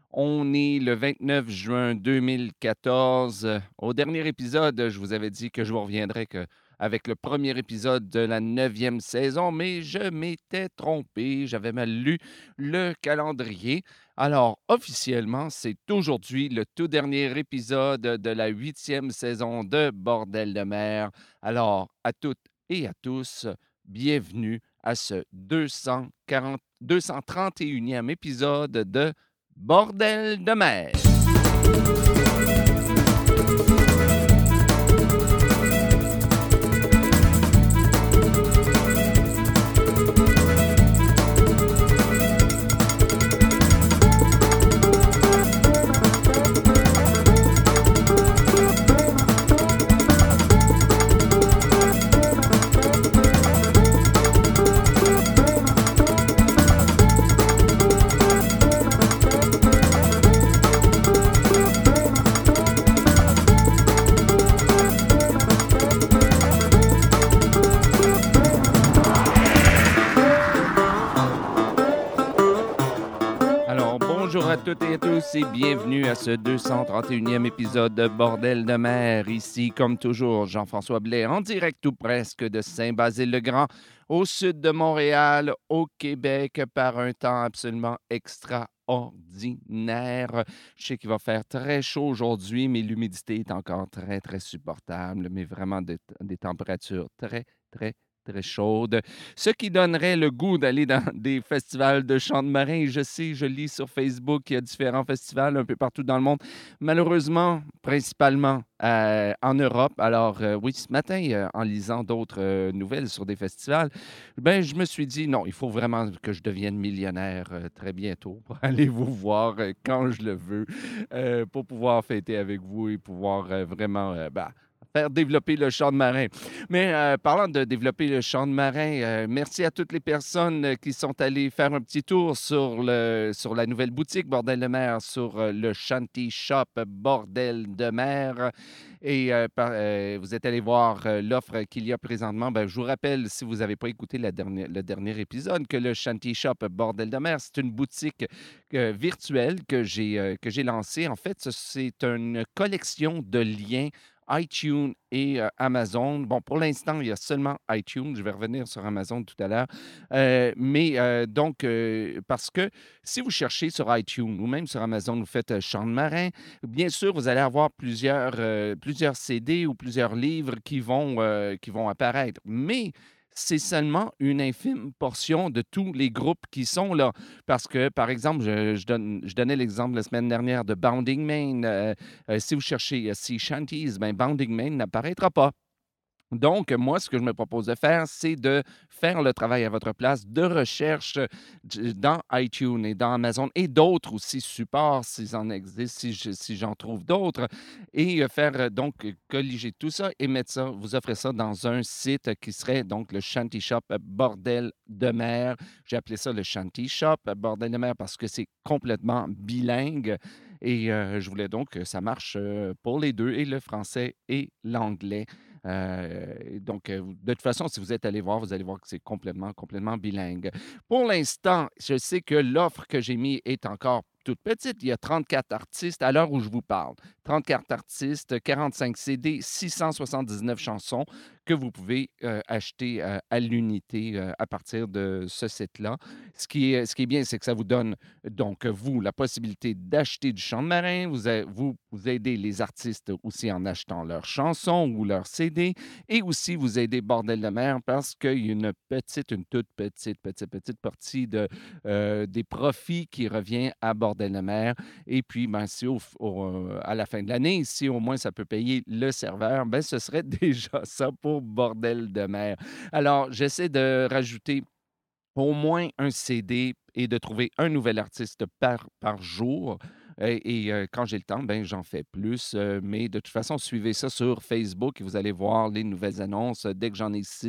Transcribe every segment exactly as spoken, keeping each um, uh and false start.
On est le vingt-neuf juin deux mille quatorze. Au dernier épisode, je vous avais dit que je vous reviendrais que avec le premier épisode de la neuvième saison, mais je m'étais trompé, j'avais mal lu le calendrier. Alors, officiellement, c'est aujourd'hui le tout dernier épisode de la huitième saison de Bordel de mer. Alors, à toutes et à tous, bienvenue à ce deux cent quarante, deux cent trente et unième épisode de Bordel de mer. Alors, bonjour à toutes et à tous et bienvenue à ce deux cent trente et unième épisode de Bordel de mer. Ici, comme toujours, Jean-François Blais, en direct ou presque de Saint-Basile-le-Grand, au sud de Montréal, au Québec, par un temps absolument extraordinaire. Je sais qu'il va faire très chaud aujourd'hui, mais l'humidité est encore très, très supportable, mais vraiment des, des températures très, très, très chaudes. Ce qui donnerait le goût d'aller dans des festivals de chants de marins. Je sais, je lis sur Facebook qu'il y a différents festivals un peu partout dans le monde. Malheureusement, principalement euh, en Europe. Alors, euh, oui, ce matin, euh, en lisant d'autres euh, nouvelles sur des festivals, ben, je me suis dit, non, il faut vraiment que je devienne millionnaire euh, très bientôt pour aller vous voir euh, quand je le veux, euh, pour pouvoir fêter avec vous et pouvoir euh, vraiment euh, ben, faire développer le chant de marin. Mais euh, parlant de développer le chant de marin, euh, merci à toutes les personnes euh, qui sont allées faire un petit tour sur, le, sur la nouvelle boutique Bordel de mer, sur euh, le Shanty Shop Bordel de mer. Et euh, par- euh, vous êtes allé voir euh, l'offre qu'il y a présentement. Ben, je vous rappelle, si vous n'avez pas écouté la dernière- le dernier épisode, que le Shanty Shop Bordel de mer, c'est une boutique euh, virtuelle que j'ai euh, que j'ai lancée. En fait, ce- c'est une collection de liens iTunes et euh, Amazon. Bon, pour l'instant, il y a seulement iTunes. Je vais revenir sur Amazon tout à l'heure. Euh, mais euh, donc, euh, parce que si vous cherchez sur iTunes ou même sur Amazon, vous faites euh, Chant de marin, bien sûr, vous allez avoir plusieurs, euh, plusieurs C D ou plusieurs livres qui vont, euh, qui vont apparaître. Mais c'est seulement une infime portion de tous les groupes qui sont là. Parce que, par exemple, je, je donne, je donnais l'exemple la semaine dernière de Bounding Main. Euh, euh, si vous cherchez euh, Sea Shanties, ben Bounding Main n'apparaîtra pas. Donc, moi, ce que je me propose de faire, c'est de faire le travail à votre place de recherche euh, d- dans iTunes et dans Amazon et d'autres aussi supports, s'ils en existent, si je- si j'en trouve d'autres, et euh, faire euh, donc euh, colliger tout ça et mettre ça, vous offrez ça dans un site qui serait donc le Shanty Shop euh, Bordel de mer. J'ai appelé ça le Shanty Shop euh, Bordel de mer parce que c'est complètement bilingue et euh, je voulais donc que ça marche euh, pour les deux, et le français et l'anglais. Euh, donc, euh, de toute façon, si vous êtes allé voir, vous allez voir que c'est complètement, complètement bilingue. Pour l'instant, je sais que l'offre que j'ai mise est encore toute petite. Il y a trente-quatre artistes à l'heure où je vous parle. trente-quatre artistes, quarante-cinq C D, six cent soixante-dix-neuf chansons que vous pouvez euh, acheter euh, à l'unité euh, à partir de ce site-là. Ce qui est, ce qui est bien, c'est que ça vous donne, donc, vous, la possibilité d'acheter du chant de marin. Vous, a- vous, vous aidez les artistes aussi en achetant leurs chansons ou leurs C D. Et aussi, vous aidez Bordel de mer parce qu'il y a une petite, une toute petite, petite, petite partie de, euh, des profits qui revient à Bordel de mer. Et puis, ben, si au, au- euh, à la fin de l'année, si au moins ça peut payer le serveur, ben, ce serait déjà ça pour Bordel de mer. Alors, j'essaie de rajouter au moins un C D et de trouver un nouvel artiste par, par jour. Et, et, euh, quand j'ai le temps, ben, j'en fais plus. Euh, mais de toute façon, suivez ça sur Facebook et vous allez voir les nouvelles annonces. Dès que j'en ai six,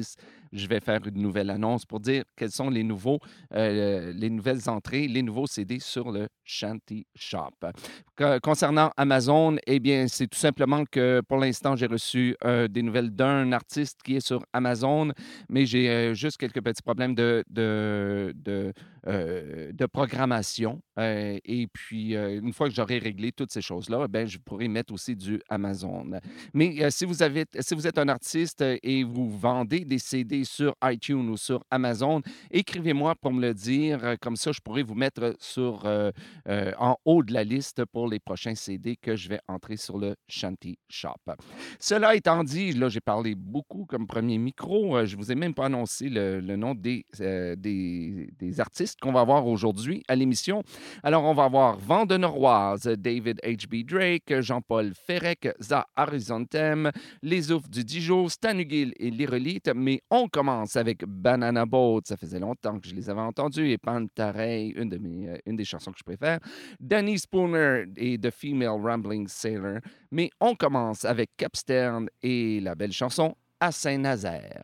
je vais faire une nouvelle annonce pour dire quels sont les nouveaux, euh, les nouvelles entrées, les nouveaux C D sur le Shanty Shop. Que- concernant Amazon, eh bien, c'est tout simplement que pour l'instant, j'ai reçu euh, des nouvelles d'un artiste qui est sur Amazon, mais j'ai euh, juste quelques petits problèmes de, de, de, euh, de programmation. Euh, et puis, euh, une fois que j'aurai réglé toutes ces choses-là, ben, je pourrai mettre aussi du Amazon. Mais euh, si, vous avez, si vous êtes un artiste euh, et vous vendez des C D sur iTunes ou sur Amazon, écrivez-moi pour me le dire. Euh, Comme ça, je pourrai vous mettre sur, euh, euh, en haut de la liste pour les prochains C D que je vais entrer sur le Shanty Shop. Cela étant dit, là, j'ai parlé beaucoup comme premier micro. Euh, je ne vous ai même pas annoncé le, le nom des, euh, des, des artistes qu'on va avoir aujourd'hui à l'émission. Alors, on va avoir Vent de Noroise, David H B. Drake, Jean-Paul Ferrec, Za Horizontem, Les Oufs du Dijon, Stan Hugill et l'Irolite. Mais on commence avec Banana Boat. Ça faisait longtemps que je les avais entendus. Et Pantarei, une, de mes, euh, une des chansons que je préfère. Danny Spooner et The Female Rambling Sailor. Mais on commence avec Capstern et la belle chanson À Saint-Nazaire.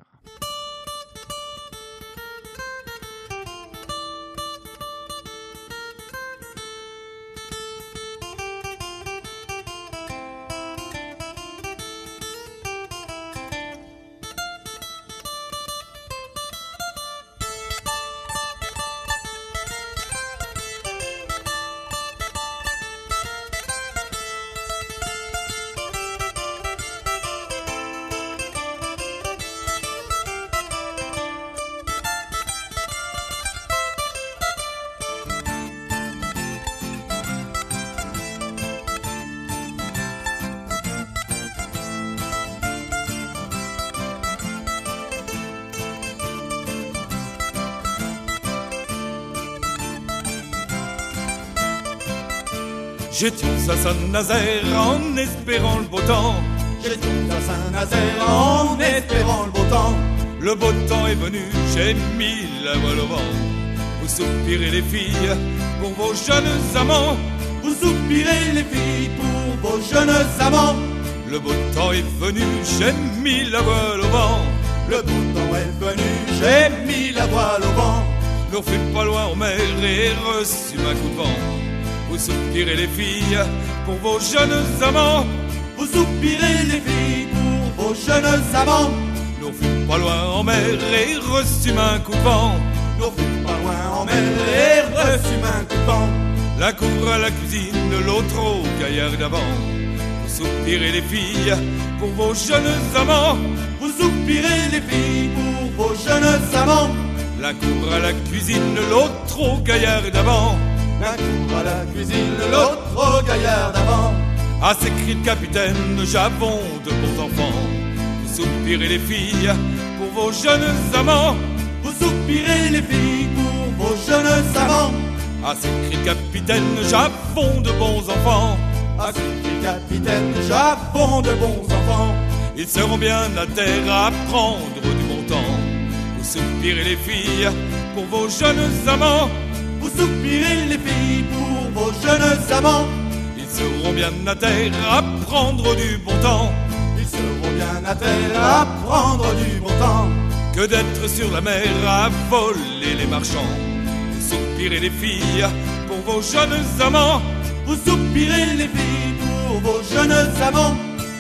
J'étais à Saint-Nazaire en espérant le beau temps. J'étais à Saint-Nazaire en espérant le beau temps. Le beau temps est venu, j'ai mis la voile au vent. Vous soupirez les filles pour vos jeunes amants. Vous soupirez les filles pour vos jeunes amants. Le beau temps est venu, j'ai mis la voile au vent. Le beau temps est venu, j'ai mis la voile au vent. Nous fûmes pas loin en mer et reçûmes un coup de vent. Vous soupirez les filles pour vos jeunes amants. Vous soupirez les filles pour vos jeunes amants. Nous fûmes pas loin en mer et reçûmes un coup de vent. Nous fûmes pas loin en mer et reçûmes un coup de vent. L'un court à la cuisine, l'autre au gaillard d'avant. Vous soupirez les filles pour vos jeunes amants. Vous soupirez les filles pour vos jeunes amants. L'un court à la cuisine, l'autre au gaillard d'avant. L'un court à la cuisine, l'autre au gaillard d'avant. À ces cris de capitaine, j'avons de bons enfants. Vous soupirez les filles pour vos jeunes amants. Vous soupirez les filles pour vos jeunes amants. À ces cris de capitaine, j'avons de bons enfants. À ces cris de capitaine, j'avons de bons enfants. Ils seront bien à terre à prendre du bon temps. Vous soupirez les filles pour vos jeunes amants. Vous soupirez les filles pour vos jeunes amants. Ils seront bien à terre à prendre du bon temps. Ils seront bien à terre à prendre du bon temps. Que d'être sur la mer à voler les marchands. Vous soupirez les filles pour vos jeunes amants. Vous soupirez les filles pour vos jeunes amants.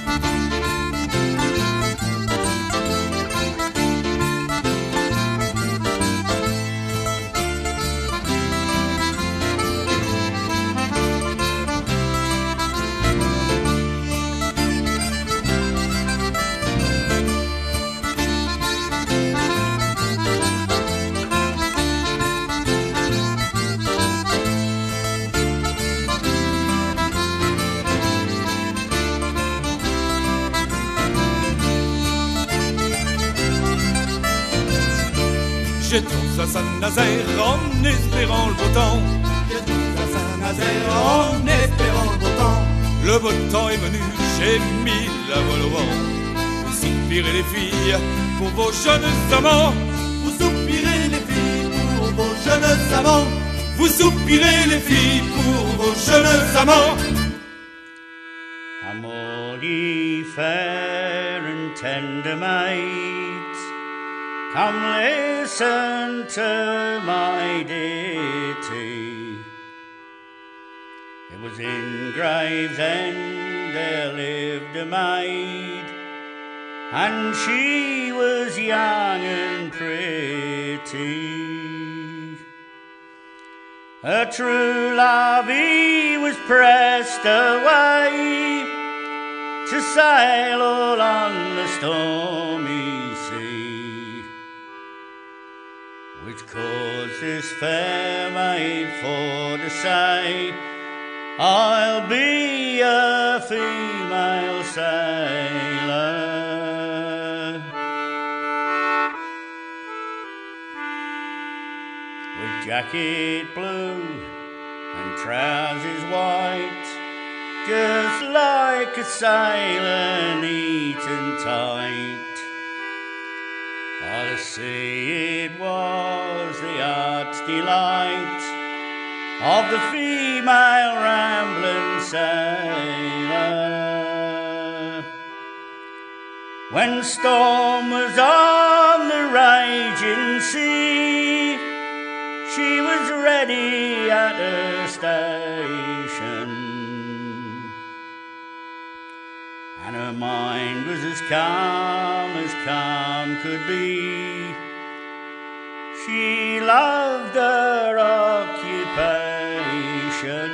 J'étais à Saint-Nazaire en espérant le beau temps. J'étais à Saint-Nazaire en espérant le beau temps. Le beau temps est venu, j'ai mis la voile au vent. Vous soupirez les filles pour vos jeunes amants. Vous soupirez les filles pour vos jeunes amants. Vous soupirez les filles pour vos jeunes amants. Come all ye fair and tender maids, Come listen to my ditty. It was in Gravesend there lived a maid, and she was young and pretty. Her true love he was pressed away to sail all on the stormy sea, which caused this fair maid for to say, I'll be a female sailor. With jacket blue and trousers white, just like a sailor, neat and tight. By the sea it was the art's delight of the female rambling sailor. When storm was on the raging sea, she was ready at her station, and her mind was as calm as calm could be. She loved her occupation.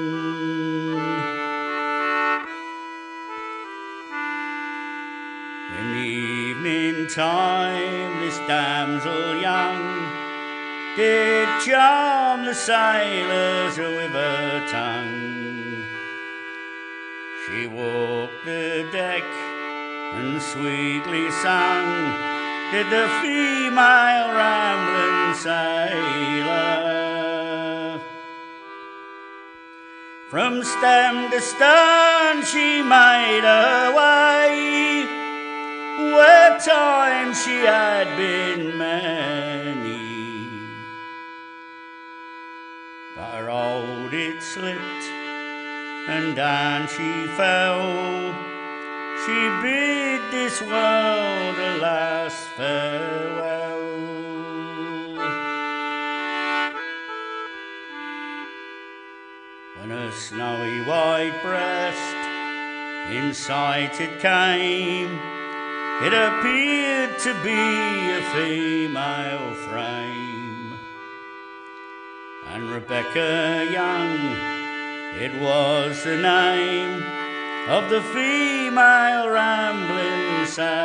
In the evening time, this damsel young did charm the sailors with her tongue. She walked the deck and sweetly sung, did the female rambling sailor. From stem to stern she made her way, where times she had been many, but her hold it slipped and down she fell. She bid this world a last farewell. When her snowy white breast in sight it came, it appeared to be a female frame, and Rebecca Young, it was the name of the female rambling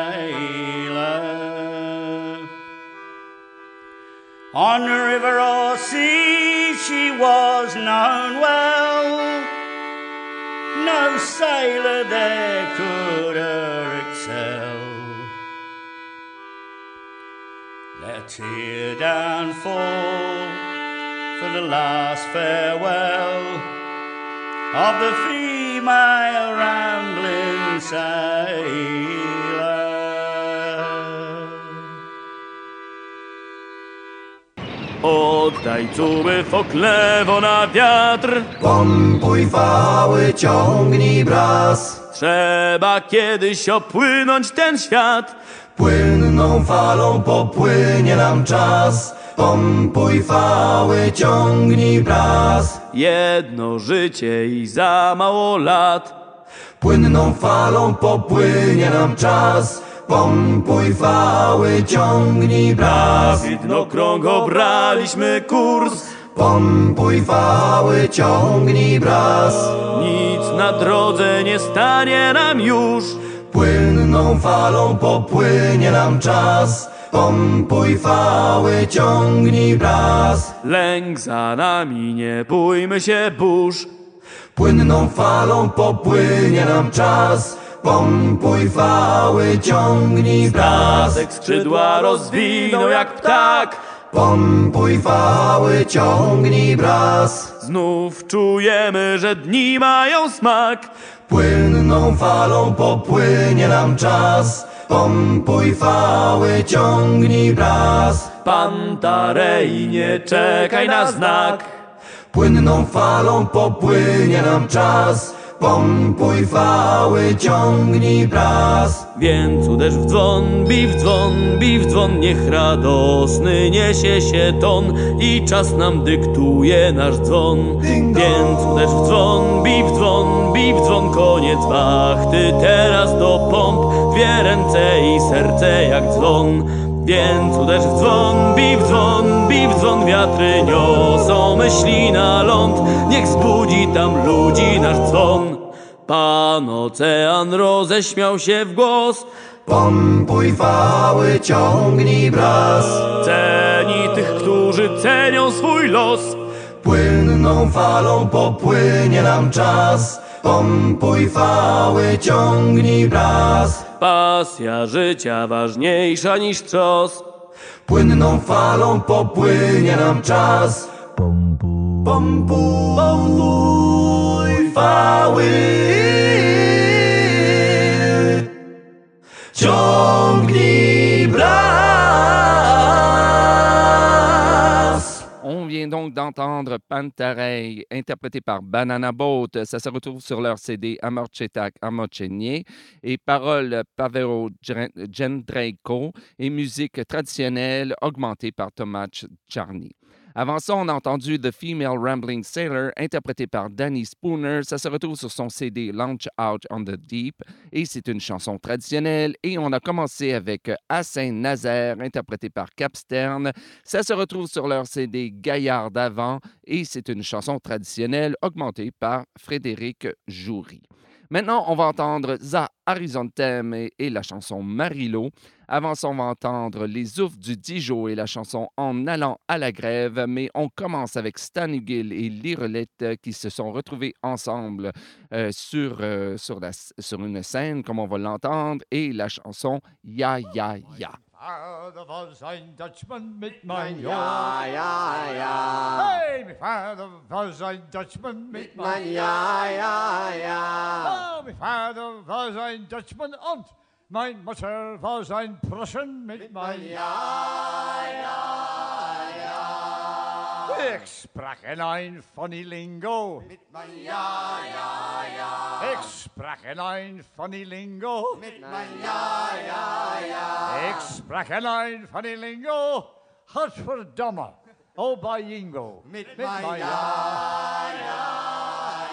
sailor. On the river or sea she was known well, no sailor there could her excel. Let a tear down fall for the last farewell of the female rambling sailor. Oddaj cuły foklewo na wiatr, Pompuj fały, ciągnij braz. trzeba kiedyś opłynąć ten świat. Płynną falą popłynie nam czas. Pompuj fały, ciągnij braz. Jedno życie i za mało lat. Płynną falą popłynie nam czas. Pompuj fały, ciągnij braz. Widnokrąg obraliśmy kurs, Pompuj fały, ciągnij braz. nic na drodze nie stanie nam już. Płynną falą popłynie nam czas. Pompuj fały, ciągnij braz. Lęk za nami, nie bójmy się burz. Płynną falą popłynie nam czas. Pompuj fały, ciągnij braz. Statek skrzydła rozwinął jak ptak. Pompuj fały, ciągnij braz. Znów czujemy, że dni mają smak. Płynną falą popłynie nam czas. Pompuj fały, ciągnij braz. Pantarei, nie czekaj na znak. Płynną falą popłynie nam czas. Pompuj fały, ciągnij bras. Więc uderz w dzwon, bij w dzwon, bij w dzwon, niech radosny niesie się ton i czas nam dyktuje nasz dzwon. Więc uderz w dzwon, bij w dzwon, bij w dzwon, koniec wachty, teraz do pomp, dwie ręce i serce jak dzwon. Więc uderz w dzwon, bij w dzwon, bij w dzwon, wiatry niosą myśli na ląd, niech zbudzi tam ludzi nasz dzwon. Pan ocean roześmiał się w głos. Pompuj fały, ciągnij bras. Ceni tych, którzy cenią swój los. Płynną falą popłynie nam czas. Pompuj fały, ciągnij bras. Pasja życia ważniejsza niż trzos. Płynną falą popłynie nam czas. Pompuj, pompuj, pompuj fały, ciągnij bras. On vient donc d'entendre Pantarei, interprété par Banana Boat. Ça se retrouve sur leur C D Amorcetak Amocenie et paroles Pavero Jędrzejko et musique traditionnelle augmentée par Tomasz Czarny. Avant ça, on a entendu The Female Rambling Sailor, interprété par Danny Spooner. Ça se retrouve sur son C D Launch Out on the Deep et c'est une chanson traditionnelle. Et on a commencé avec À Saint-Nazaire, interprété par Capstern. Ça se retrouve sur leur C D Gaillard d'avant et c'est une chanson traditionnelle augmentée par Frédéric Joury. Maintenant, on va entendre Za Horizontem et, et la chanson Marilo. Avant ça, on va entendre Les Oufs du Dijon et la chanson En allant à la grève. Mais on commence avec Stan Hugill et Lirolette qui se sont retrouvés ensemble euh, sur, euh, sur, la, sur une scène, comme on va l'entendre, et la chanson Ya Ya Ya. Vader was ein Dutchman mit mein Ja, ja, ja. Hey, my father was ein Dutchman mit mein Ja, ja, ja. Oh, my father was ein Dutchman und mein Mutter was ein Prussen mit mein Ja, ja, ja. Ich sprach in ein funny Lingo Mit mein Ja, ja, ja. Ich sprach in ein funny Lingo Mit mein Ja, ja, ja. Ich sprach in ein funny Lingo Hat verdamme, oh bei Jingo Mit mein Ja, ja,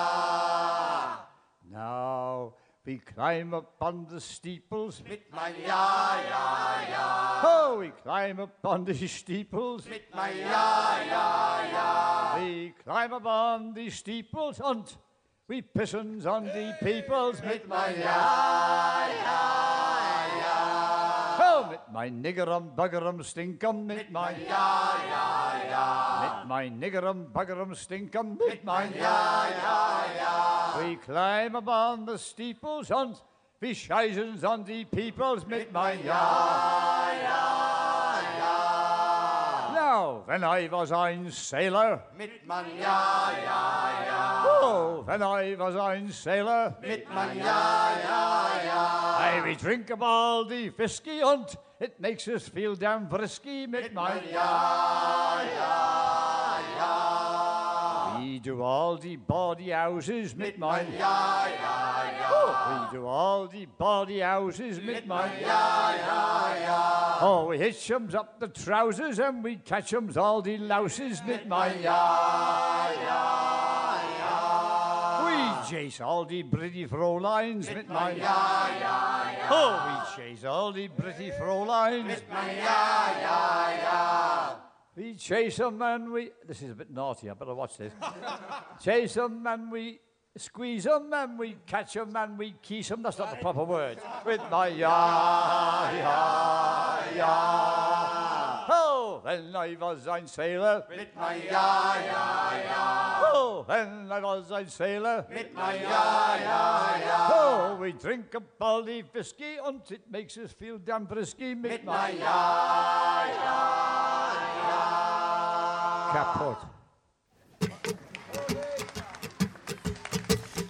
ja. Now we climb up on the steeples Mit mein Ja, ja, ja. Oh, we climb up on the steeples Mit mein Ja, ja, ja. We climb up on the steeples und we pissons on the peoples Mit mein Ja, ja, ja. Oh, mit mein Niggerum, Buggerum, Stinkum, mit mein Ja, ja, ja. Mit mein Niggerum, Buggerum, Stinkum, mit mein Ja, ja, ja. We climb up on the steeples und we scheißens on the peoples mit mein Ja, ja, ja. Now, when I was ein Sailor, Mit mein Ja, ja, ja. oh, when I was ein Sailor, Mit mein Ja, ja, ja. I we drink up all the whiskey und it makes us feel damn frisky mit mein Ja, ja, ja. We do all the bawdy houses mit mein Ja, ja, ja. We do all the bawdy houses mit mein Ja, ja, ja. Oh, we hitch 'ems up the trousers and we catch 'ems all the louses mit mein Ja, ja, ja. We chase all the pretty Fräuleins mit mein Ja, ja, ja. Oh, we chase all the pretty Fräuleins. Ja, ja, ja. We chase them and we... This is a bit naughty, I better watch this. Chase them and we squeeze them and we catch them and we kiss them. That's not the proper word. With my ya, ya, ya. Oh, when I was ein Sailor. Mit mein Ja, ja, ja. Oh, when I was ein Sailor. Mit mein Ja, ja, ja. Oh, we drink up all the whiskey and it makes us feel damn frisky. Mit Mit my mein Ja, ja, ja. Kaputt.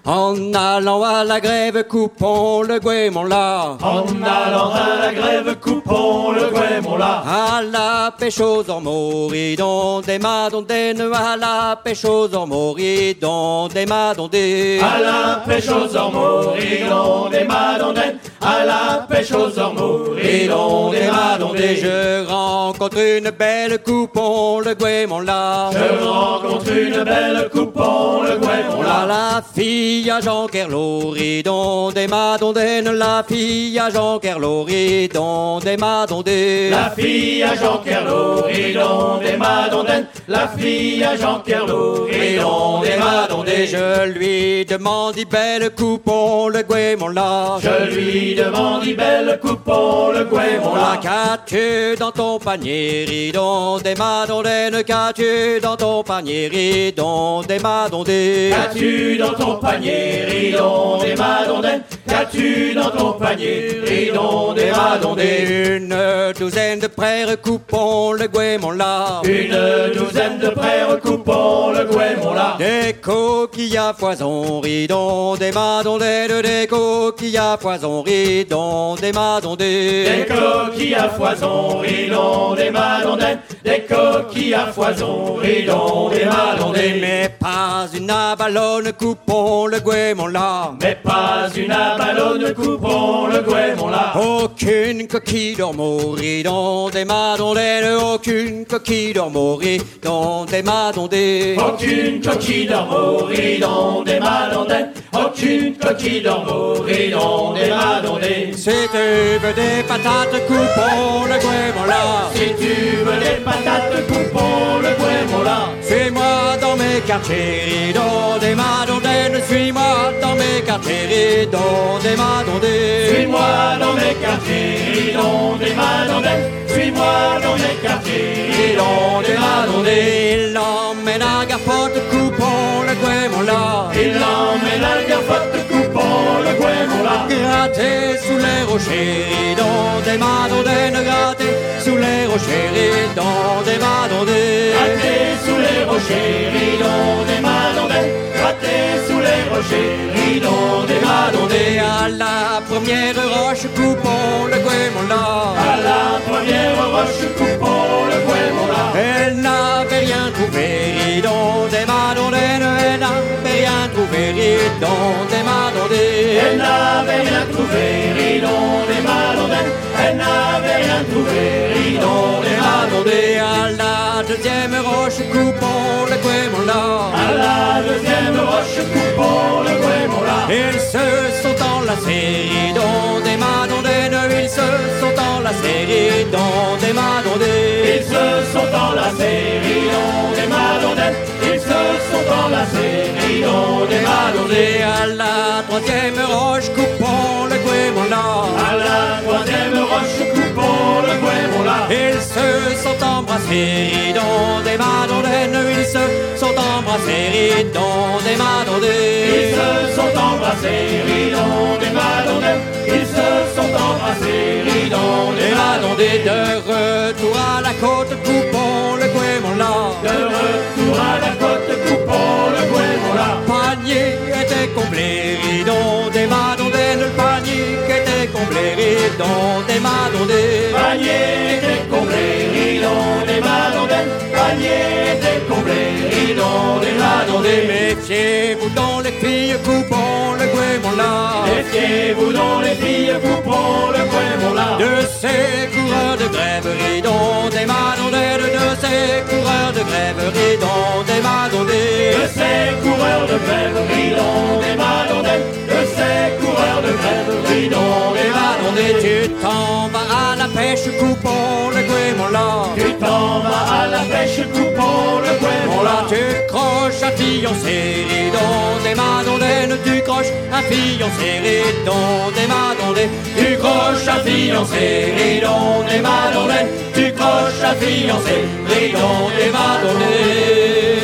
En allant à la grève, coupons le guémon-là. En allant à la grève, coupons le guémon-là. À la pêche aux ormoridons, des madondaines, à la pêche aux ormoridons, des madondaines. À la pêche aux ormoridons, des madondaines. À la pêche aux ormoridons, des madondaines. Je rencontre une belle, coupons le guémon-là. Je rencontre une belle, coupons le guémon-là. La fille à Jean Kerloridon, des madondaines. La fille à Jean Kerloridon, des madondaines. La fille à Jean Kerloridon, des madondaines. La fille à Jean Kerloridon, des madondaines. Je lui demande, belle, coupons le guémon-là. Je lui demande, belle, coupons le guémon-là. Qu'as-tu dans ton panier, ridon, des madondaines? Qu'as-tu dans ton panier, ridon, des madondaines? Qu'as-tu dans ton panier, ridon, des madondaines? Qu'as-tu dans ton panier, ridon, des madondaines? Une douzaine de frères, coupons le guémon-là. Une douzaine de frères, coupons le guémon-là. Des coquilles à poison, ridon, des madondaines. Des coquilles à poison, ridon, des madondaines. Des coquilles à foison, ridon, des madondaines. Des coquilles à foison, ridon, des madondaines. Mais pas une abalone, coupons le guémon-là. Mais pas une abalone, coupons le guémon-là. Aucune coquille d'ormoridon, des madondaines. Aucune coquille d'ormoridon, des madondaines. Aucune coquille d'ormoridon, des madondaines. Aucune coquille d'ormoridon, des madondaines. Si tu veux des patates, coupons le guémon-là. Si tu veux des patates, coupons le guémon-là. Suis-moi dans mes quartiers, ridon, des madondaines. Suis-moi dans mes quartiers, ridon, des madondaines. Suis-moi dans mes quartiers, ridon, des madondaines. Suis-moi dans mes quartiers, ridon, des madondaines. Il l'emmène à Garfotte, coupons le guémon-là. Il l'emmène à Garfotte, coupons le guémon-là. Gratter sous les rochers, ridon, des madondaines. Gratter sous les rochers, ridon, des madondaines. Gratter sous les rochers, ridon, des madondaines. Gratter sous les rochers, ridon, des madondaines. À la première roche, coupons le guémon-là. À la première roche, coupons le guémon-là. Elle n'avait rien trouvé, ridon, des madondaines. Elle n'avait rien trouvé, ridon, des madondaines. Elle n'avait rien trouvé, ridon, des madondaines. Elle n'avait rien trouvé, ridon, des madondaines. À la deuxième roche, coupons le guémon-là. À la deuxième roche, coupons le guémon-là. Ils se sont enlacés, ridon, des madondaines. Ils se sont enlacés, ridon, des madondaines. Ils se sont enlacés, ridon, des madondaines. Ils se sont enlacés, ridon, des madondaines. À la troisième roche, coupons le guémon-là. À la troisième roche, coupons le guémon-là. Ils se sont embrassés, ridon, des madondaines. Ils se sont embrassés, ridon, des madondaines. Ils se sont embrassés, ridon, des madondaines. Ils se sont embrassés, ridon, des madondaines. De retour à la côte, coupons le guémon-là. De retour à la côte, coupons le guémon-là. Panier était comblé, ridon, des madondaines. Le panier était comblé, ridon, des madondaines. Panier était comblé, ridon, des madondaines. Panier était comblé, ridon, des madondaines. Méfiez-vous dans les filles, coupons le guémon-là. Méfiez-vous dans les filles, coupons le guémon-là. De ces coureurs de grève, ridon, des madondaines. De ces coureurs de grève, ridon, des madondaines. De ces coureurs de grève, ridon, des madondaines. De ces coureurs de grève, ridon, des madondaines. Tu t'en vas à la pêche, coupons le guémon-là. Tu t'en vas à la pêche, coupons le guémon-là. Tu croches un fiancé, ridon, des madondaines. Tu croches un fiancé, ridon, des madondaines. Tu croches un fiancé, ridon, des madondaines. Tu croches un fiancé, ridon, des madondaines.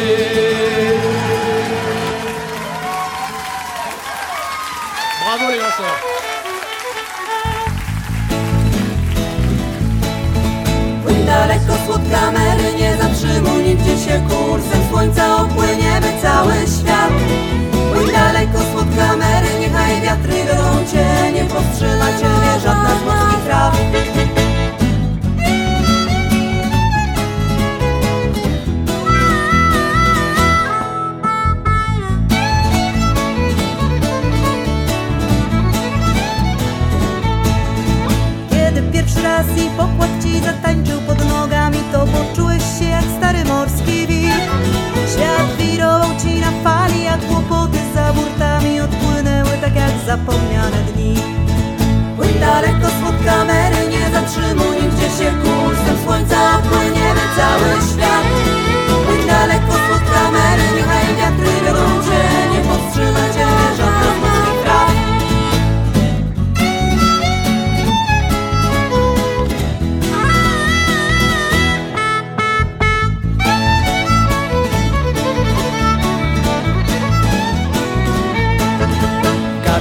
Bravo les lanceurs. Płyń daleko, słodka Mary, nie zatrzymuj nigdzie się kursem słońca, opłyniemy cały świat. Płyń daleko, słodka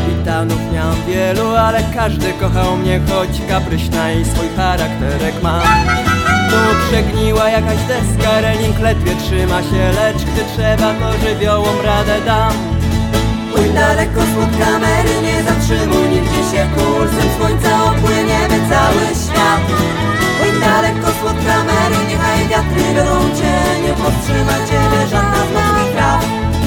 kapitanów miałam wielu, ale każdy kochał mnie, choć kapryśna i swój charakterek ma. Tu przegniła jakaś deska, reling ledwie trzyma się, lecz gdy trzeba, to żywiołom radę dam. Płyń daleko spod kamery, nie zatrzymuj nigdzie się, kursem słońca opłyniemy cały świat. Płyń daleko spod kamery, niechaj wiatry wiodą cię, nie powstrzyma ciebie żadna z morskich praw.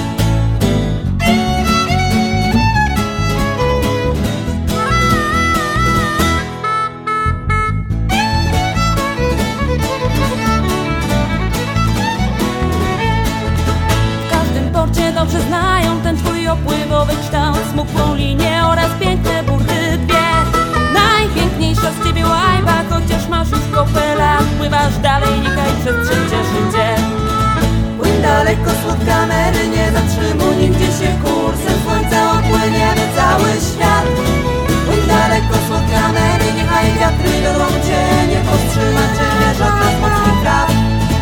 W każdym porcie dobrze znają ten twój opływowy kształt, smukłą linię oraz piękne burty dwie. Najpiękniejsza z ciebie łajba, chociaż masz już kopę lat, pływasz dalej, niechaj przestrzeń cieszy cię. Płyń daleko spod kamery, nie zatrzymuj nigdzie się, kursem słońca opłyniemy cały świat. Płyń daleko spod kamery, niechaj wiatry wiodą cię, nie powstrzyma ciebie żadna z morskich praw.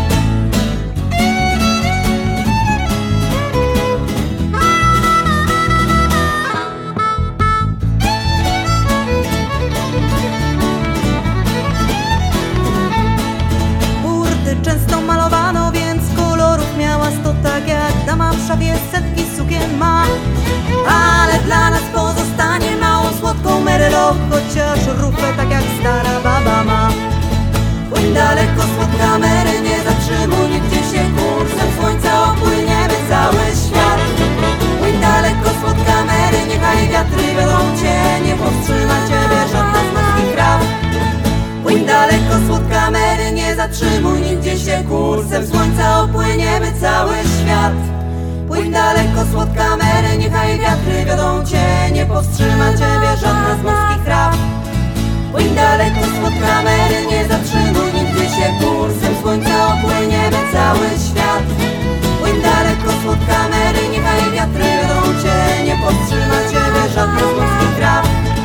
Często malowano, więc kolorów miała sto, tak jak dama w szafie setki sukien ma. Ale dla nas pozostanie małą słodką Merylo, chociaż rufę tak jak stara baba ma. Płyń daleko spod kamery, nie zatrzymuj nigdzie się, kursem słońca opłyniemy cały świat. Płyń daleko spod kamery, niechaj wiatry wiodą cię, nie powstrzyma ciebie żadna z morskich praw. Płyń daleko spod kamery, nie zatrzymuj nigdzie się, kursem słońca opłyniemy cały świat. Płyń daleko spod kamery, niechaj wiatry wiodą cię, nie powstrzyma ciebie żadna z morskich praw. Płyń daleko spod kamery, nie zatrzymuj nigdzie się, kursem słońca opłyniemy cały świat. Płyń daleko spod kamery, niechaj wiatry wiodą cię, nie powstrzyma ciebie żadna z morskich praw.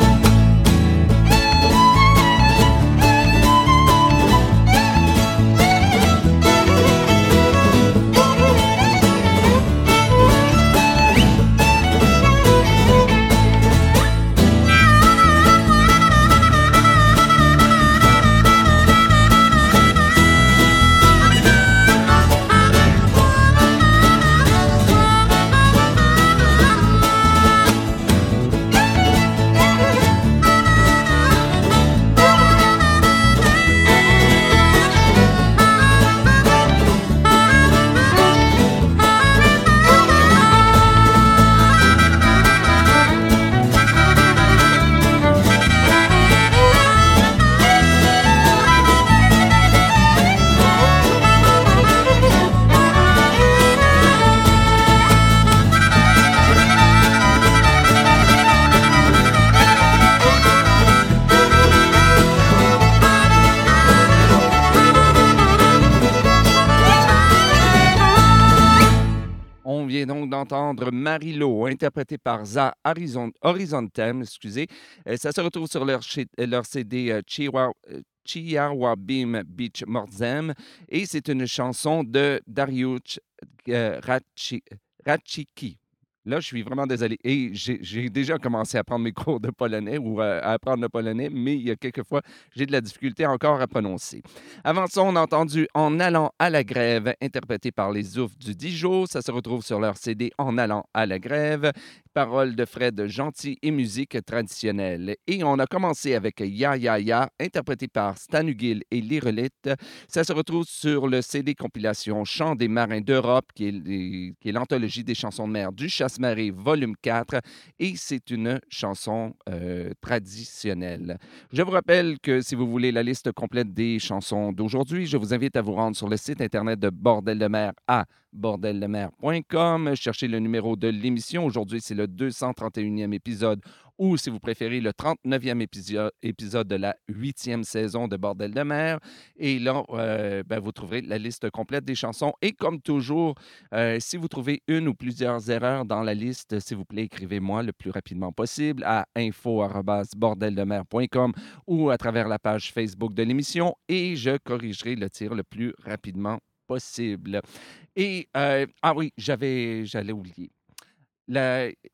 Donc d'entendre Marie-Lo, interprétée par Za Horizon, Horizontem, excusez. Euh, ça se retrouve sur leur, chez, leur C D euh, Chihuahua, Chihuahuabim Beach Morzem et c'est une chanson de Dariusz euh, Raci, Racicki. Là, je suis vraiment désolé. Et j'ai, j'ai déjà commencé à prendre mes cours de polonais ou à, à apprendre le polonais, mais il y a quelques fois, j'ai de la difficulté encore à prononcer. Avant ça, on a entendu En allant à la grève, interprété par les Oufs du Dijon. Ça se retrouve sur leur C D En allant à la grève. Paroles de Fred Gentil et musique traditionnelle. Et on a commencé avec Ya Ya Ya, interprété par Stan Hugill et Lirelite. Ça se retrouve sur le C D compilation Chants des marins d'Europe, qui est, qui est l'anthologie des chansons de mer du Chasse-Marée, volume quatre. Et c'est une chanson euh, traditionnelle. Je vous rappelle que si vous voulez la liste complète des chansons d'aujourd'hui, je vous invite à vous rendre sur le site internet de Bordel de mer à bordel de mer point com. Cherchez le numéro de l'émission. Aujourd'hui, c'est le deux cent trente et unième épisode ou, si vous préférez, le trente-neuvième épisode, épisode de la huitième saison de Bordel de mer. Et là, euh, ben, vous trouverez la liste complète des chansons. Et comme toujours, euh, si vous trouvez une ou plusieurs erreurs dans la liste, s'il vous plaît, écrivez-moi le plus rapidement possible à info arobase bordel de mer point com ou à travers la page Facebook de l'émission et je corrigerai le tir le plus rapidement possible. Et, euh, ah oui, j'avais, j'allais oublier. La,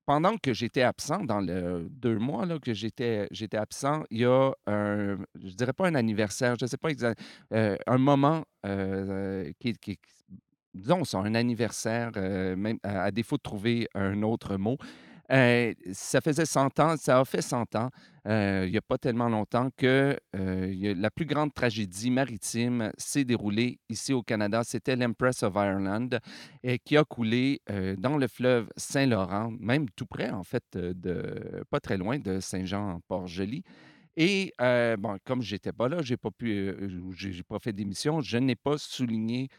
pendant que j'étais absent, dans le deux mois là, que j'étais, j'étais absent, il y a un, je dirais pas un anniversaire, je ne sais pas exactement, euh, un moment euh, qui, qui, disons ça, un anniversaire, euh, même à, à défaut de trouver un autre mot. Euh, ça faisait cent ans, ça a fait cent ans, euh, il n'y a pas tellement longtemps, que euh, il y a- la plus grande tragédie maritime s'est déroulée ici au Canada. C'était l'Empress of Ireland, et qui a coulé euh, dans le fleuve Saint-Laurent, même tout près, en fait, euh, de, pas très loin de Saint-Jean-Port-Joli. Et euh, bon, comme j'étais pas là, j'ai pas pu, euh, j'ai j'ai pas fait d'émission, je n'ai pas souligné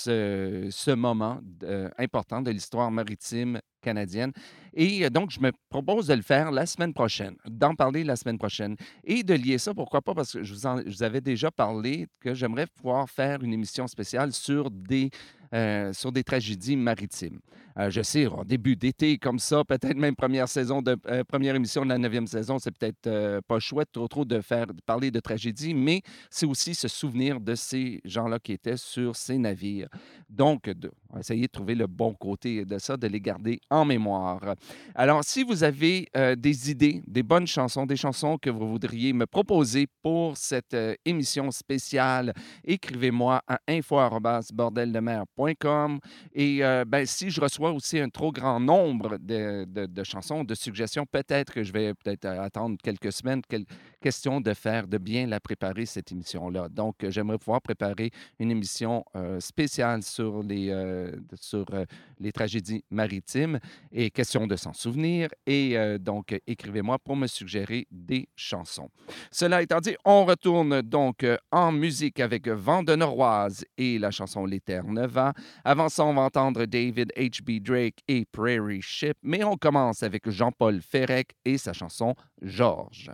ce, ce moment euh, important de l'histoire maritime canadienne. Et euh, donc, je me propose de le faire la semaine prochaine, d'en parler la semaine prochaine et de lier ça, pourquoi pas, parce que je vous, en- je vous avais déjà parlé que j'aimerais pouvoir faire une émission spéciale sur des, euh, sur des tragédies maritimes. Euh, je sais, en début d'été comme ça, peut-être même première saison de euh, première émission de la neuvième saison, c'est peut-être euh, pas chouette trop trop de faire de parler de tragédie, mais c'est aussi se souvenir de ces gens-là qui étaient sur ces navires. Donc, de, on va essayer de trouver le bon côté de ça, de les garder en mémoire. Alors, si vous avez euh, des idées, des bonnes chansons, des chansons que vous voudriez me proposer pour cette euh, émission spéciale, écrivez-moi à info arobase bordel de mer point com. Et euh, ben, si je reçois aussi un trop grand nombre de, de- de chansons, de suggestions, peut-être que je vais peut-être euh, attendre quelques semaines. Quelle question de faire, de bien la préparer, cette émission-là. Donc, euh, j'aimerais pouvoir préparer une émission euh, spéciale sur les, euh, sur, euh, les tragédies maritimes et question de s'en souvenir. Et euh, donc, euh, écrivez-moi pour me suggérer des chansons. Cela étant dit, on retourne donc euh, en musique avec Vent de Noroise et la chanson L'Éterneva. Avant ça, on va entendre David H B. Drake et Prairie Ship, mais on commence avec Jean-Paul Ferrec et sa chanson Georges.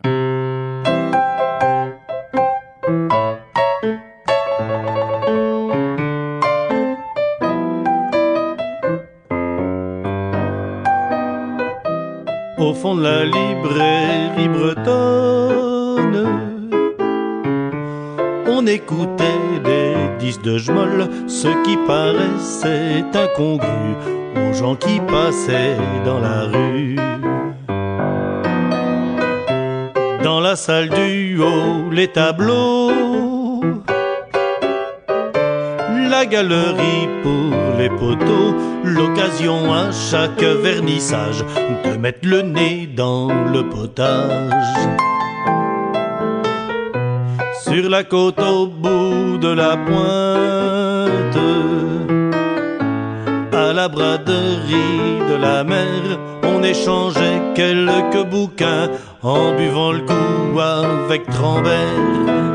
Au fond de la librairie bretonne, on écoutait des disques de Jmoll, ce qui paraissait incongru aux gens qui passaient dans la rue. Dans la salle du haut, les tableaux, la galerie pour les poteaux, l'occasion à chaque vernissage de mettre le nez dans le potage. Sur la côte au bout de la pointe, à la braderie de la mer, on échangeait quelques bouquins en buvant le coup avec Trambert.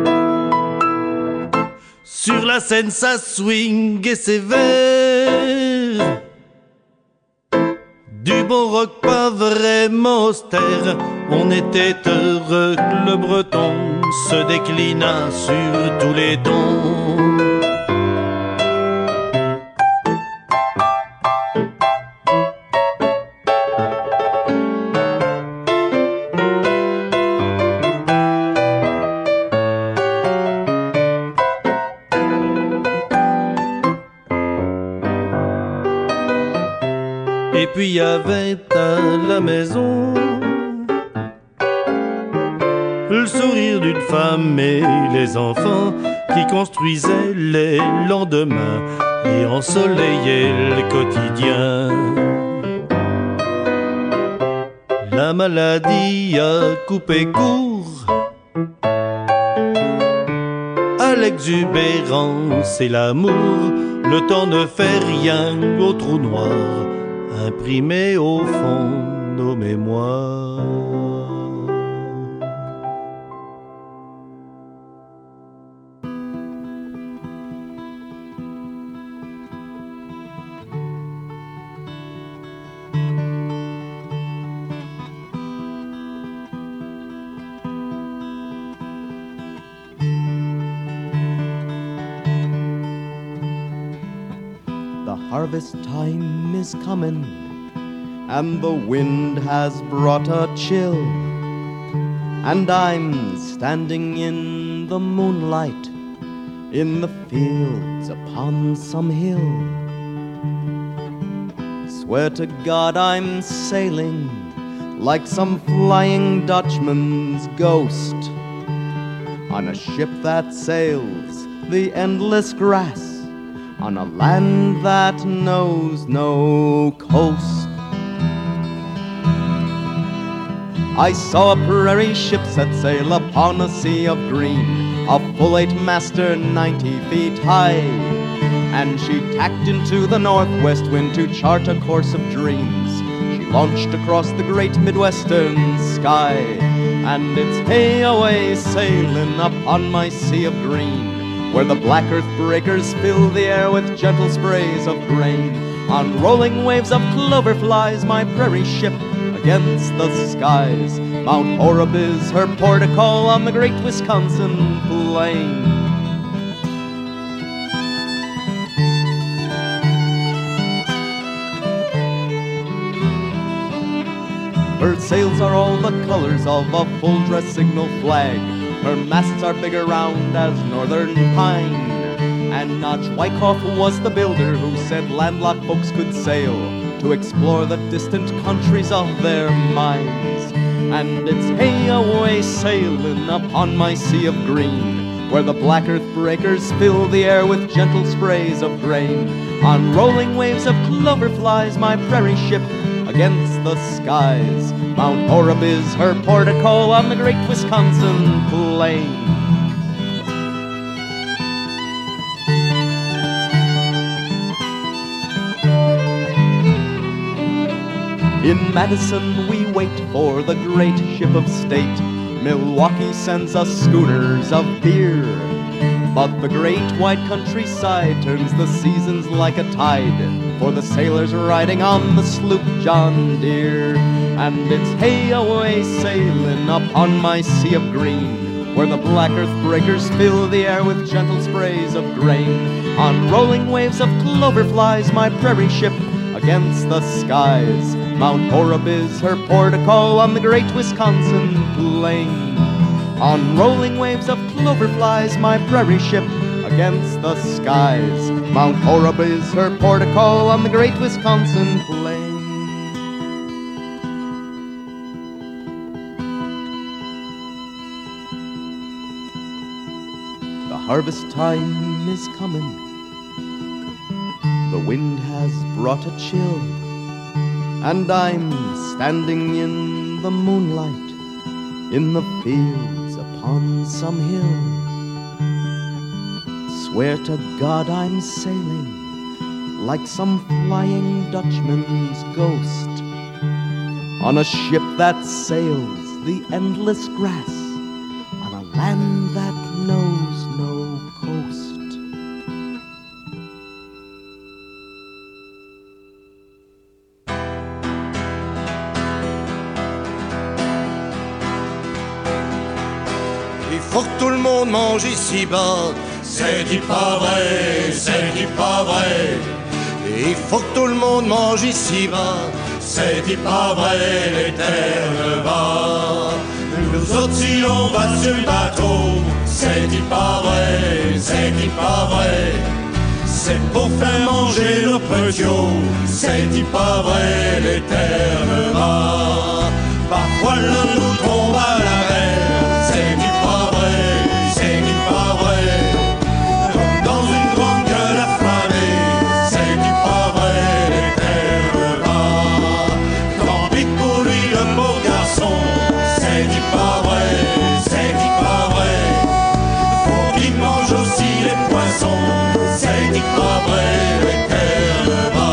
Sur la scène, ça swing et sévère. Du bon rock pas vraiment austère. On était heureux que le breton se déclina sur tous les tons. Et puis il y avait à la maison le sourire d'une femme et les enfants qui construisaient les lendemains et ensoleillaient le quotidien. La maladie a coupé court à l'exubérance et l'amour. Le temps ne fait rien au trou noir imprimé au fond de nos mémoires. The harvest time is coming, and the wind has brought a chill, and I'm standing in the moonlight in the fields upon some hill, Swear to God I'm sailing like some flying Dutchman's ghost on a ship that sails the endless grass on a land that knows no coast. I saw a prairie ship set sail upon a sea of green, a full eight-master ninety feet high, and she tacked into the northwest wind to chart a course of dreams. She launched across the great Midwestern sky, and it's hey-away sailing upon my sea of green, where the black earth breakers fill the air with gentle sprays of grain. On rolling waves of clover flies my prairie ship against the skies. Mount Horeb is her port of call on the great Wisconsin plain. Her sails are all the colors of a full-dress signal flag. Her masts are big around as northern pine. And Notch Wyckoff was the builder who said landlocked folks could sail to explore the distant countries of their minds. And it's hey-away sailing upon my sea of green, where the black earth breakers fill the air with gentle sprays of grain. On rolling waves of clover flies my prairie ship against the skies. Mount Horeb is her port of call on the great Wisconsin plain. In Madison we wait for the great ship of state. Milwaukee sends us schooners of beer, but the great wide countryside turns the seasons like a tide for the sailors riding on the sloop John Deere. And it's hey-away sailing upon my sea of green, where the black earth breakers fill the air with gentle sprays of grain. On rolling waves of clover flies my prairie ship against the skies. Mount Horeb is her port of call on the great Wisconsin plain. On rolling waves of clover flies my prairie ship against the skies. Mount Horeb is her port of call on the great Wisconsin plain. The harvest time is coming. The wind has brought a chill, and I'm standing in the moonlight in the fields upon some hill. Swear to God I'm sailing like some flying Dutchman's ghost on a ship that sails the endless grass on a land that knows no coast. Faut que tout le monde mange ici-bas. C'est dit pas vrai, c'est dit pas vrai. Il faut que tout le monde mange ici-bas. C'est dit pas vrai, les terres bas. Nous autres si on va sur le bateau. C'est dit pas vrai, c'est dit pas vrai. C'est pour faire manger nos petits. C'est dit pas vrai, les terres bas. Parfois l'un nous tombe à la mer. C'est dit pas vrai, c'est dit pas vrai. Comme dans une grande gueule affamée. C'est dit pas vrai, les terres bas. Tant pis pour lui le beau garçon. C'est dit pas vrai, c'est dit pas vrai. Faut qu'il mange aussi les poissons. C'est dit pas vrai, les terres bas.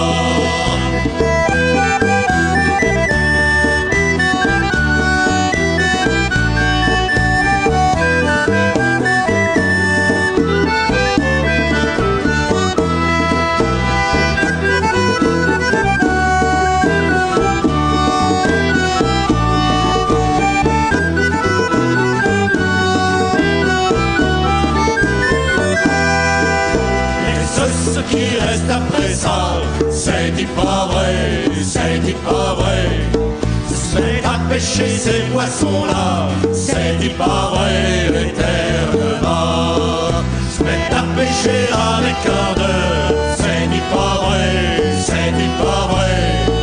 Qui reste après ça, c'est dit pas vrai, c'est dit pas vrai. C'est à pêcher ces poissons-là, c'est dit pas vrai, les terres bas. Se mettre à pêcher avec ardeur, c'est dit pas vrai, c'est dit pas vrai.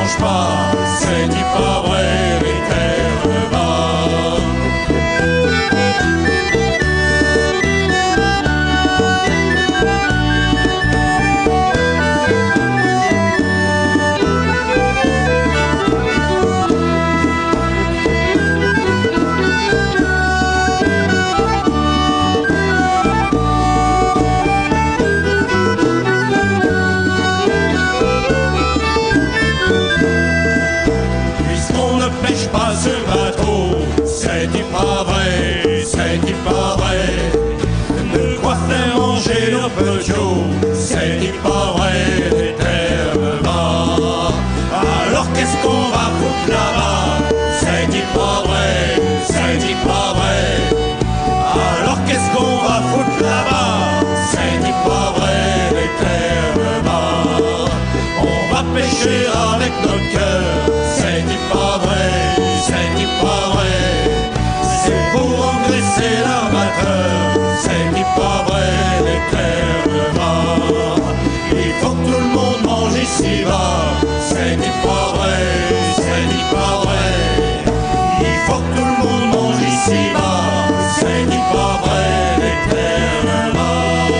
bouge pas, c'est-il pas vrai, les terres bas. Pas ce bateau, c'est-il pas vrai, c'est-il pas vrai, de quoi faire manger nos petits, c'est-il pas vrai, les terres bas. Alors qu'est-ce qu'on va foutre là-bas, c'est-il pas vrai, c'est-il pas vrai. Alors qu'est-ce qu'on va foutre là-bas, c'est-il pas vrai, les terres bas. On va pêcher avec notre cœur, c'est-il pas vrai, c'est-il pas vrai, c'est pour engraisser l'armateur, c'est-il pas vrai, les terres bas. Il faut que tout le monde mange ici-bas, c'est-il pas vrai, c'est-il pas vrai. Il faut que tout le monde mange ici-bas, c'est-il pas vrai, les terres bas.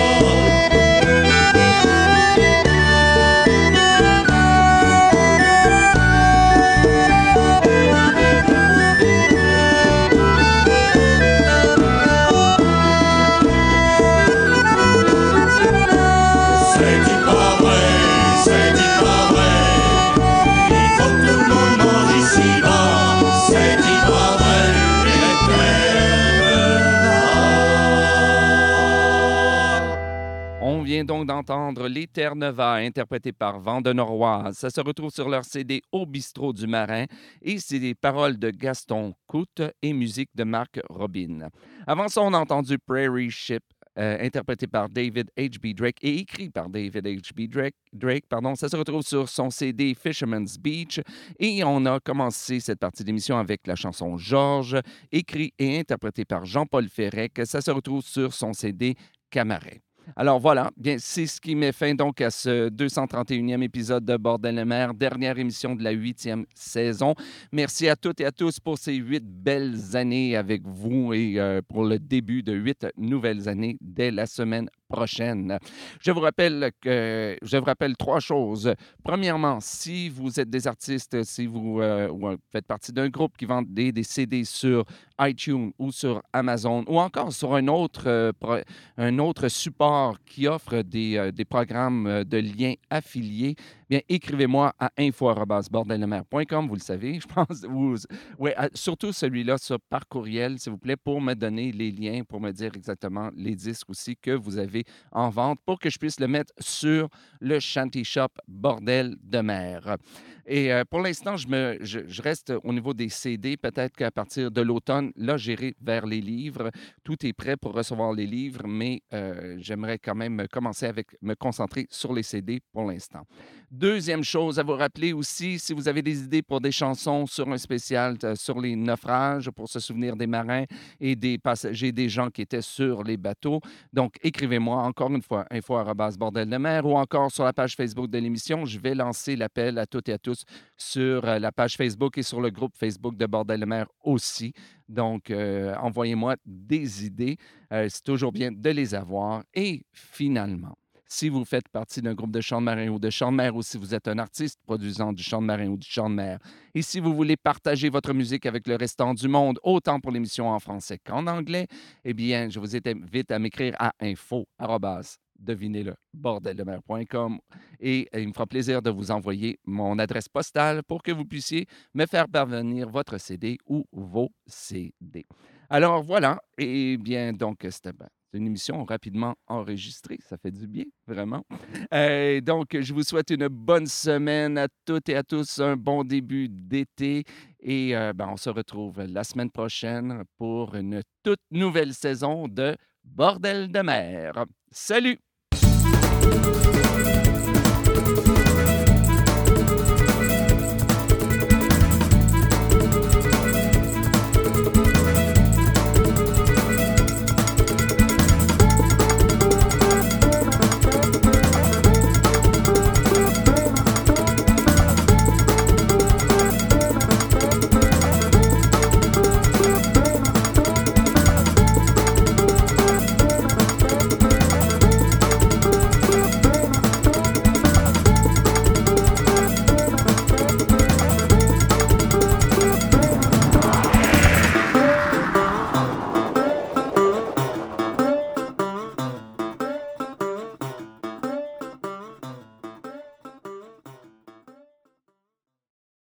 On vient donc d'entendre Les Terres Nova, interprété par Vent de Noroise. Ça se retrouve sur leur C D Au Bistrot du Marin et c'est des paroles de Gaston Coute et musique de Marc Robin. Avant ça, on a entendu Prairie Ship, euh, interprété par David H B Drake et écrit par David H B Drake. Drake pardon. Ça se retrouve sur son C D Fisherman's Beach et on a commencé cette partie d'émission avec la chanson Georges, écrit et interprété par Jean-Paul Ferrec. Ça se retrouve sur son C D Camaret. Alors voilà, bien, c'est ce qui met fin donc à ce deux cent trente et unième épisode de Bordel de mer, dernière émission de la huitième saison. Merci à toutes et à tous pour ces huit belles années avec vous et euh, pour le début de huit nouvelles années dès la semaine prochaine. Je vous rappelle que je vous rappelle trois choses. Premièrement, si vous êtes des artistes, si vous euh, faites partie d'un groupe qui vend des, des C D sur iTunes ou sur Amazon ou encore sur un autre, euh, pro, un autre support qui offre des, euh, des programmes de liens affiliés, bien, écrivez-moi à info arobase bordel de mer point com, vous le savez, je pense. Vous, ouais, surtout celui-là sur, par courriel, s'il vous plaît, pour me donner les liens, pour me dire exactement les disques aussi que vous avez en vente pour que je puisse le mettre sur le Shanty Shop Bordel de mer. Et euh, pour l'instant, je, me, je, je reste au niveau des C D. Peut-être qu'à partir de l'automne, là, j'irai vers les livres. Tout est prêt pour recevoir les livres, mais euh, j'aimerais quand même commencer avec me concentrer sur les C D pour l'instant. Deuxième chose à vous rappeler aussi, si vous avez des idées pour des chansons sur un spécial euh, sur les naufrages, pour se souvenir des marins et des passagers, des gens qui étaient sur les bateaux, donc écrivez-moi encore une fois, info arobase bordel de mer ou encore sur la page Facebook de l'émission. Je vais lancer l'appel à toutes et à tous sur euh, la page Facebook et sur le groupe Facebook de Bordel de mer aussi. Donc, euh, envoyez-moi des idées. Euh, c'est toujours bien de les avoir. Et finalement, si vous faites partie d'un groupe de chant de marin ou de chant de mer ou si vous êtes un artiste produisant du chant de marin ou du chant de mer et si vous voulez partager votre musique avec le restant du monde, autant pour l'émission en français qu'en anglais, eh bien, je vous invite à m'écrire à info arobase devinez-le, bordel de mer point com et il me fera plaisir de vous envoyer mon adresse postale pour que vous puissiez me faire parvenir votre C D ou vos C D. Alors voilà, et bien donc c'était bien. C'est une émission rapidement enregistrée. Ça fait du bien, vraiment. Euh, donc, je vous souhaite une bonne semaine à toutes et à tous, un bon début d'été. Et euh, ben, on se retrouve la semaine prochaine pour une toute nouvelle saison de Bordel de mer. Salut!